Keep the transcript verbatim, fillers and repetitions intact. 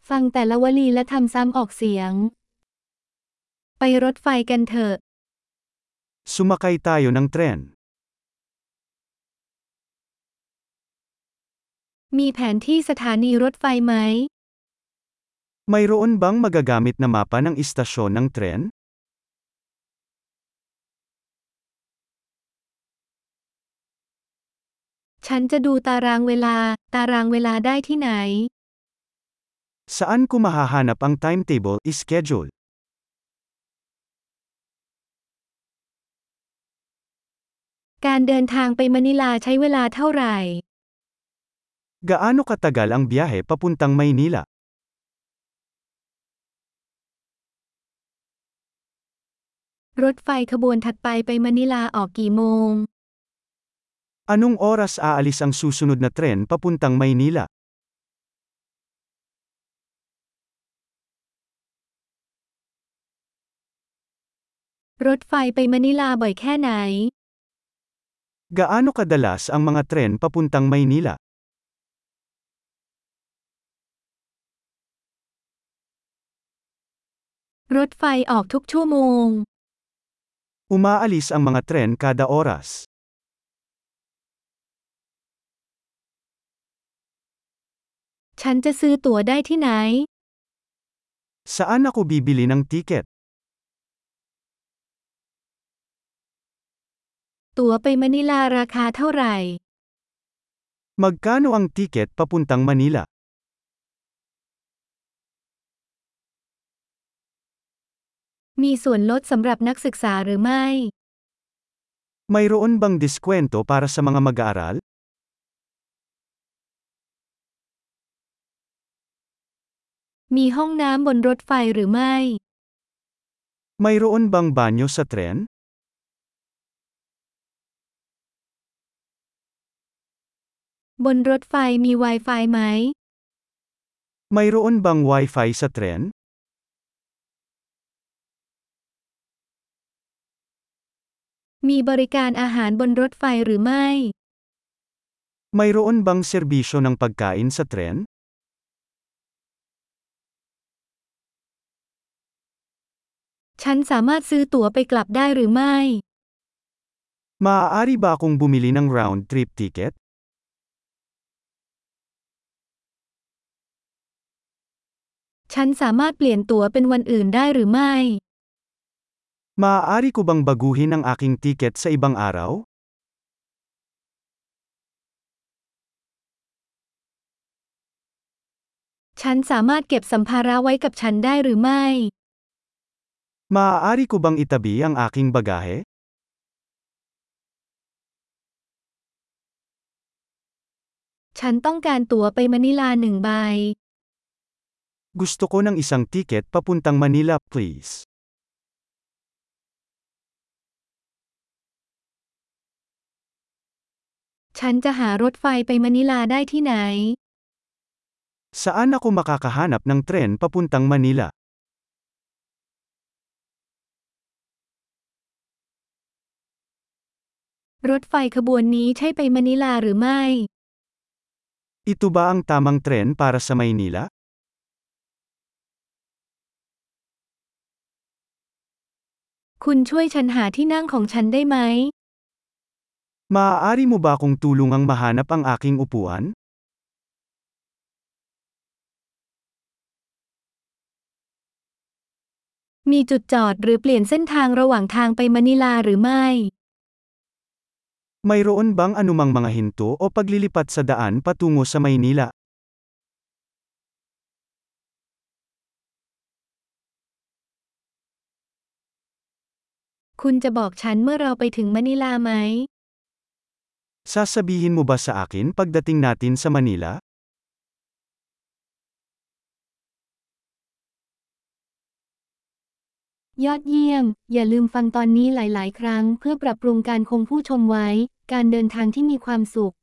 ฟังแต่ละวลีและทำซ้ำออกเสียง ไปรถไฟกันเถอะ Sumakay tayo ng tren. มีแผนที่สถานีรถไฟไหม Mayroon bang magagamit na mapa ng istasyon ng tren? ฉันจะดูตารางเวลา ตารางเวลาได้ที่ไหน Saan ko mahahanap ang timetable, schedule? การเดินทางไปมะนิลาใช้เวลาเท่าไหร่ Gaano katagal ang biyahe papuntang Maynila? รถไฟขบวนถัดไปไปมะนิลาออกกี่โมง Anong oras aalis ang susunod na tren papuntang Maynila? รถไฟไปมะนิลาบ่อยแค่ไหน Gaano kadalas ang mga tren papuntang Maynila? รถไฟออกทุกชั่วโมง Umaalis ang mga tren kada oras. ฉันจะซื้อตั๋วได้ที่ไหน Saan ako bibili ng tiket? ตั๋วไปมะนิลาราคาเท่าไหร่ Magkano ang tiket papuntang Manila? มีส่วนลดสำหรับนักศึกษาหรือไม่ Mayroon bang diskwento para sa mga mag-aaral? มีห้องน้ำบนรถไฟหรือไม่ Mayroon bang banyo sa tren? บนรถไฟมี Wi-Fi ไหม Mayroon bang wifi sa tren? มีบริการอาหารบนรถไฟหรือไม่ Mayroon bang serbisyo ng pagkain sa tren? ฉันสามารถซื้อตั๋วไปกลับได้หรือไม่ Maaari ba akong bumili ng round-trip ticket? ฉันสามารถเปลี่ยนตั๋วเป็นวันอื่นได้หรือไม่ Maaari ko bang baguhin ang aking tiket sa ibang araw? ฉันสามารถเก็บสัมภาระไว้กับฉันได้หรือไม่ Maaari ko bang itabi ang aking bagahe? ฉันต้องการตั๋วไปมะนิลาหนึ่งใบ Gusto ko ng isang tiket papuntang Manila, please. ฉันจะหารถไฟไปมะนิลาได้ที่ไหน Saan ako makakahanap ng tren papuntang Manila? รถไฟขบวนนี้ใช่ไปมะนิลาหรือไม่ Ito ba ang tamang tren para sa Maynila? คุณช่วยฉันหาที่นั่งของฉันได้ไหม Maaari mo ba akong tulungang mahanap ang aking upuan? มีจุดจอดหรือเปลี่ยนเส้นทางระหว่างทางไปมะนิลาหรือไม่ Mayroon bang anumang mga hinto o paglilipat sa daan patungo sa Maynila? คุณจะบอกฉันเมื่อเราไปถึงมะนิลาไหม Sasabihin mo ba sa akin pagdating natin sa Manila? ยอดเยี่ยม อย่าลืมฟังตอนนี้หลาย ๆ ครั้งเพื่อปรับปรุงการคงผู้ชมไว้ การเดินทางที่มีความสุข